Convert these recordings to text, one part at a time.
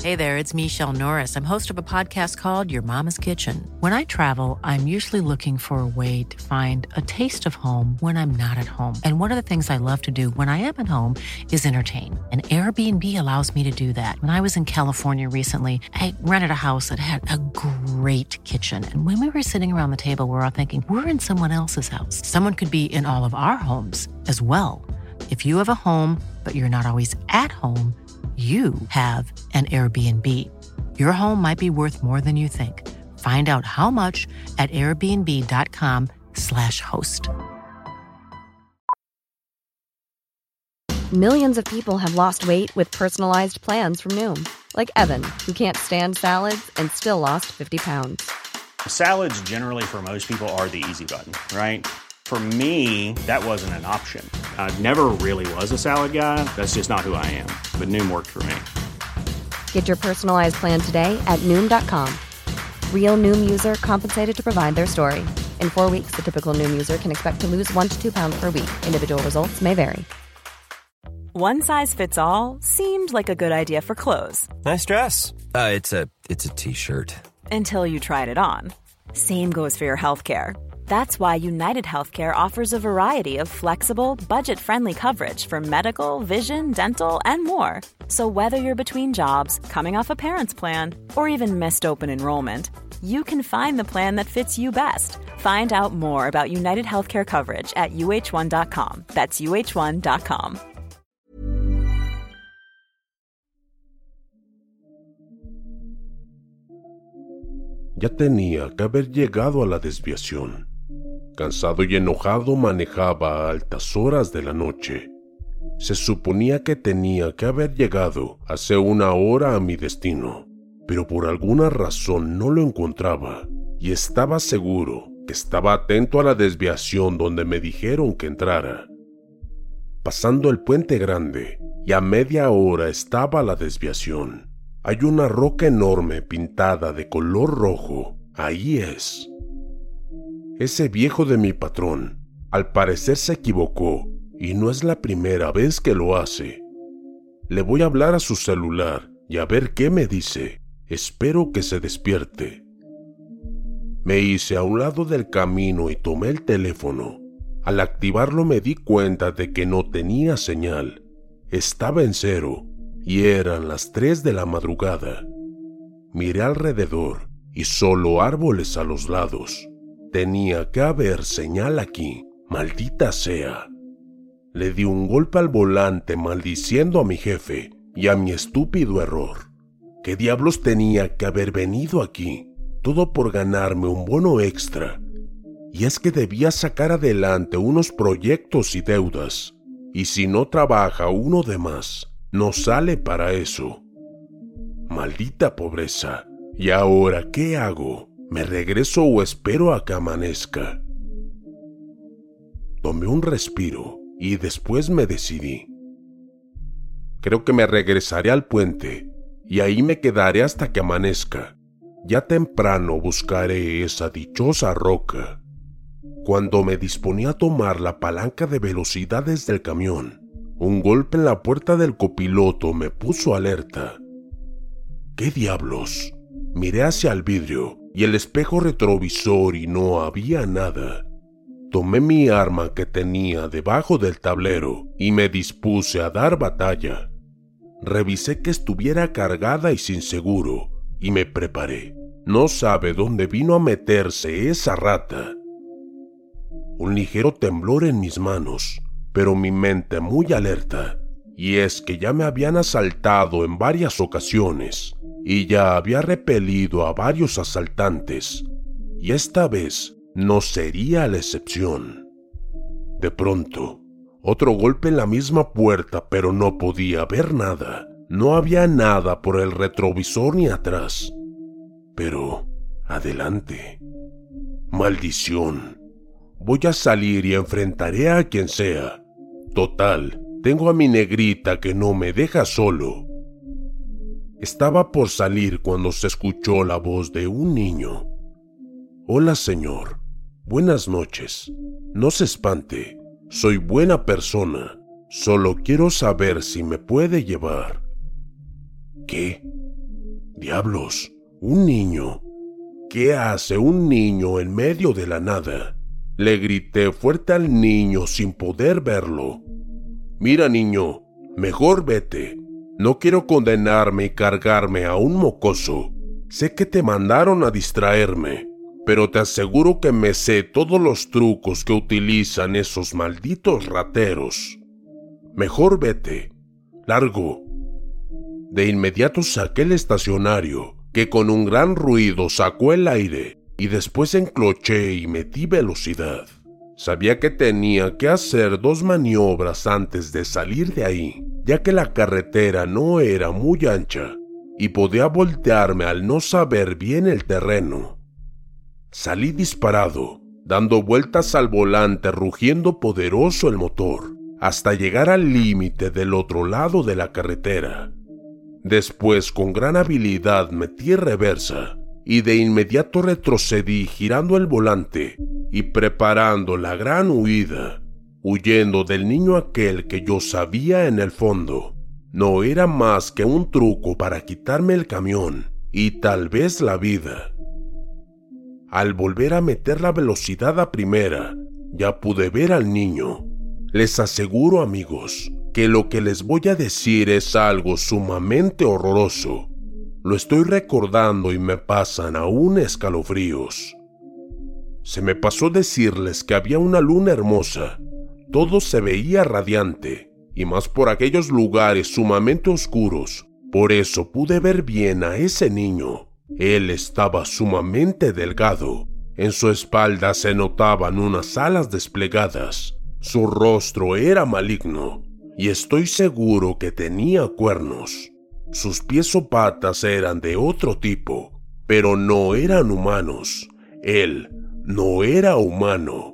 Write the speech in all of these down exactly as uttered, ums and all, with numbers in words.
Hey there, it's Michelle Norris. I'm host of a podcast called Your Mama's Kitchen. When I travel, I'm usually looking for a way to find a taste of home when I'm not at home. And one of the things I love to do when I am at home is entertain. And Airbnb allows me to do that. When I was in California recently, I rented a house that had a great kitchen. And when we were sitting around the table, we were all thinking, we're in someone else's house. Someone could be in all of our homes as well. If you have a home, but you're not always at home, you have an Airbnb. Your home might be worth more than you think. Find out how much at airbnb.com slash host. Millions of people have lost weight with personalized plans from Noom. Like Evan, who can't stand salads and still lost fifty pounds. Salads generally for most people are the easy button, right? For me, that wasn't an option. I never really was a salad guy. That's just not who I am. But Noom worked for me. Get your personalized plan today at Noom dot com. Real Noom user compensated to provide their story. In four weeks, the typical Noom user can expect to lose one to two pounds per week. Individual results may vary. One size fits all seemed like a good idea for clothes. Nice dress. Uh, it's a it's a t-shirt. Until you tried it on. Same goes for your healthcare. That's why United Healthcare offers a variety of flexible, budget-friendly coverage for medical, vision, dental, and more. So whether you're between jobs, coming off a parent's plan, or even missed open enrollment, you can find the plan that fits you best. Find out more about United Healthcare coverage at U H one dot com. That's U H one dot com. Ya tenía que haber llegado a la desviación. Cansado y enojado manejaba a altas horas de la noche. Se suponía que tenía que haber llegado hace una hora a mi destino, pero por alguna razón no lo encontraba y estaba seguro que estaba atento a la desviación donde me dijeron que entrara. Pasando el puente grande y a media hora estaba la desviación. Hay una roca enorme pintada de color rojo. Ahí es. Ese viejo de mi patrón, al parecer se equivocó, y no es la primera vez que lo hace. Le voy a hablar a su celular y a ver qué me dice. Espero que se despierte. Me hice a un lado del camino y tomé el teléfono. Al activarlo me di cuenta de que no tenía señal. Estaba en cero, y eran las tres de la madrugada. Miré alrededor y solo árboles a los lados. Tenía que haber señal aquí, maldita sea. Le di un golpe al volante maldiciendo a mi jefe y a mi estúpido error. ¿Qué diablos tenía que haber venido aquí? Todo por ganarme un bono extra. Y es que debía sacar adelante unos proyectos y deudas. Y si no trabaja uno de más, no sale para eso. Maldita pobreza. ¿Y ahora qué hago? ¿Me regreso o espero a que amanezca? Tomé un respiro y después me decidí. Creo que me regresaré al puente y ahí me quedaré hasta que amanezca. Ya temprano buscaré esa dichosa roca. Cuando me disponía a tomar la palanca de velocidades del camión, un golpe en la puerta del copiloto me puso alerta. ¿Qué diablos? Miré hacia el vidrio y el espejo retrovisor y no había nada. Tomé mi arma que tenía debajo del tablero y me dispuse a dar batalla. Revisé que estuviera cargada y sin seguro y me preparé. No sabe dónde vino a meterse esa rata. Un ligero temblor en mis manos, pero mi mente muy alerta, y es que ya me habían asaltado en varias ocasiones, y ya había repelido a varios asaltantes, y esta vez no sería la excepción. De pronto, otro golpe en la misma puerta, pero no podía ver nada. No había nada por el retrovisor ni atrás. Pero, adelante. Maldición. Voy a salir y enfrentaré a quien sea. Total, tengo a mi negrita que no me deja solo. Estaba por salir cuando se escuchó la voz de un niño. Hola, señor. Buenas noches. No se espante. Soy buena persona. Solo quiero saber si me puede llevar. ¿Qué? Diablos, un niño. ¿Qué hace un niño en medio de la nada? Le grité fuerte al niño sin poder verlo. Mira, niño, mejor vete. No quiero condenarme y cargarme a un mocoso. Sé que te mandaron a distraerme, pero te aseguro que me sé todos los trucos que utilizan esos malditos rateros. Mejor vete. Largo. De inmediato saqué el estacionario, que con un gran ruido sacó el aire, y después encloché y metí velocidad. Sabía que tenía que hacer dos maniobras antes de salir de ahí, ya que la carretera no era muy ancha, y podía voltearme al no saber bien el terreno. Salí disparado, dando vueltas al volante, rugiendo poderoso el motor, hasta llegar al límite del otro lado de la carretera. Después, con gran habilidad, metí reversa y de inmediato retrocedí girando el volante y preparando la gran huida, huyendo del niño aquel que yo sabía en el fondo no era más que un truco para quitarme el camión y tal vez la vida. Al volver a meter la velocidad a primera, ya pude ver al niño. Les aseguro, amigos, que lo que les voy a decir es algo sumamente horroroso. Lo estoy recordando y me pasan aún escalofríos. Se me pasó decirles que había una luna hermosa. Todo se veía radiante, y más por aquellos lugares sumamente oscuros. Por eso pude ver bien a ese niño. Él estaba sumamente delgado. En su espalda se notaban unas alas desplegadas. Su rostro era maligno, y estoy seguro que tenía cuernos. Sus pies o patas eran de otro tipo, pero no eran humanos. Él no era humano.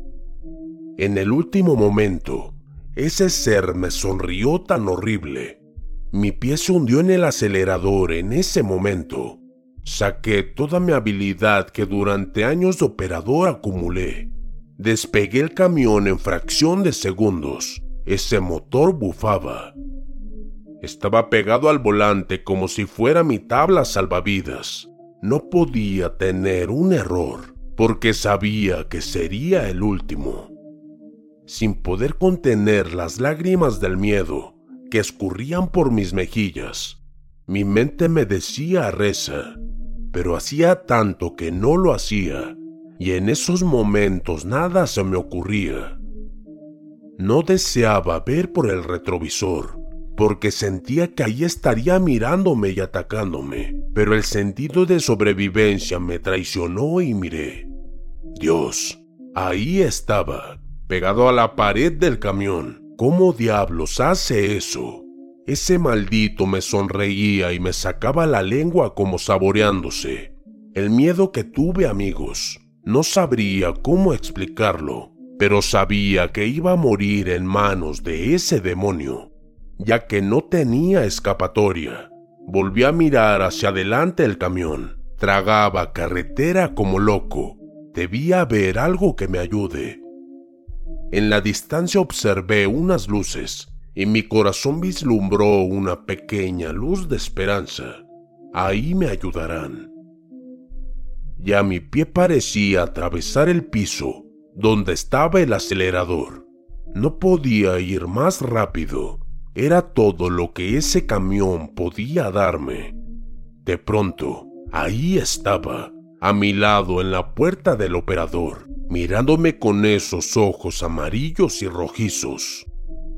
En el último momento, ese ser me sonrió tan horrible. Mi pie se hundió en el acelerador en ese momento. Saqué toda mi habilidad que durante años de operador acumulé. Despegué el camión en fracción de segundos. Ese motor bufaba. Estaba pegado al volante como si fuera mi tabla salvavidas. No podía tener un error, porque sabía que sería el último. Sin poder contener las lágrimas del miedo que escurrían por mis mejillas, mi mente me decía reza, pero hacía tanto que no lo hacía, y en esos momentos nada se me ocurría. No deseaba ver por el retrovisor, porque sentía que ahí estaría mirándome y atacándome, pero el sentido de sobrevivencia me traicionó y miré. Dios, ahí estaba, pegado a la pared del camión. ¿Cómo diablos hace eso? Ese maldito me sonreía y me sacaba la lengua como saboreándose. El miedo que tuve, amigos, no sabría cómo explicarlo, pero sabía que iba a morir en manos de ese demonio, ya que no tenía escapatoria. Volví a mirar hacia adelante el camión. Tragaba carretera como loco. Debía haber algo que me ayude. En la distancia observé unas luces y mi corazón vislumbró una pequeña luz de esperanza. Ahí me ayudarán. Ya mi pie parecía atravesar el piso donde estaba el acelerador. No podía ir más rápido. Era todo lo que ese camión podía darme. De pronto, ahí estaba, a mi lado en la puerta del operador, mirándome con esos ojos amarillos y rojizos.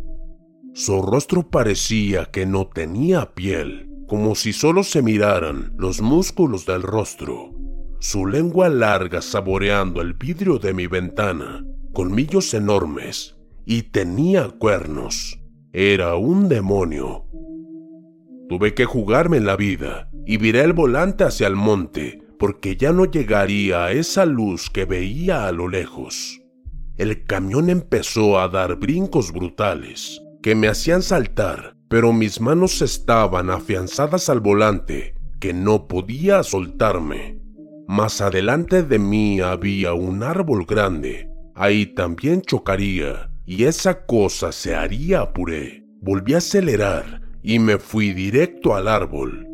Su rostro parecía que no tenía piel, como si solo se miraran los músculos del rostro. Su lengua larga saboreando el vidrio de mi ventana, colmillos enormes, y tenía cuernos. Era un demonio. Tuve que jugarme la vida y viré el volante hacia el monte, porque ya no llegaría a esa luz que veía a lo lejos. El camión empezó a dar brincos brutales que me hacían saltar, pero mis manos estaban afianzadas al volante, que no podía soltarme. Más adelante de mí había un árbol grande. Ahí también chocaría, y esa cosa se haría puré. Volví a acelerar y me fui directo al árbol.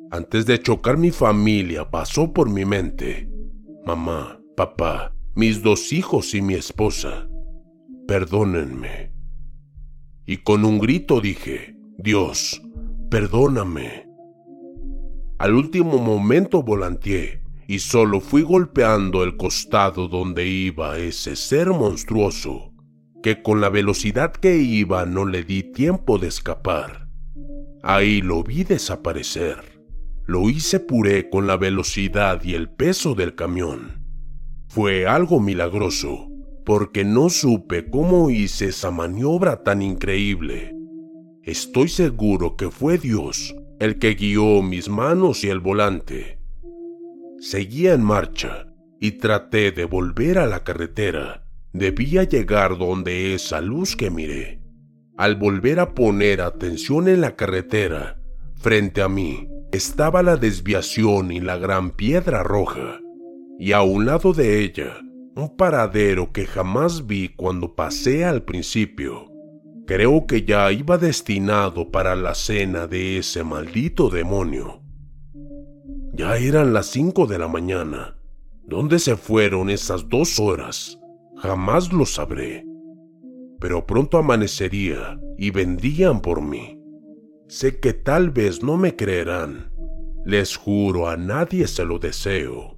Antes de chocar mi familia pasó por mi mente: mamá, papá, mis dos hijos y mi esposa. Perdónenme. Y con un grito dije: Dios, perdóname. Al último momento volanteé y solo fui golpeando el costado donde iba ese ser monstruoso, que con la velocidad que iba no le di tiempo de escapar. Ahí lo vi desaparecer. Lo hice puré con la velocidad y el peso del camión. Fue algo milagroso, porque no supe cómo hice esa maniobra tan increíble. Estoy seguro que fue Dios el que guió mis manos y el volante. Seguía en marcha y traté de volver a la carretera. Debía llegar donde esa luz que miré. Al volver a poner atención en la carretera, frente a mí estaba la desviación y la gran piedra roja, y a un lado de ella, un paradero que jamás vi cuando pasé al principio. Creo que ya iba destinado para la cena de ese maldito demonio. Ya eran las cinco de la mañana. ¿Dónde se fueron esas dos horas? Jamás lo sabré. Pero pronto amanecería y vendrían por mí. Sé que tal vez no me creerán. Les juro, a nadie se lo deseo.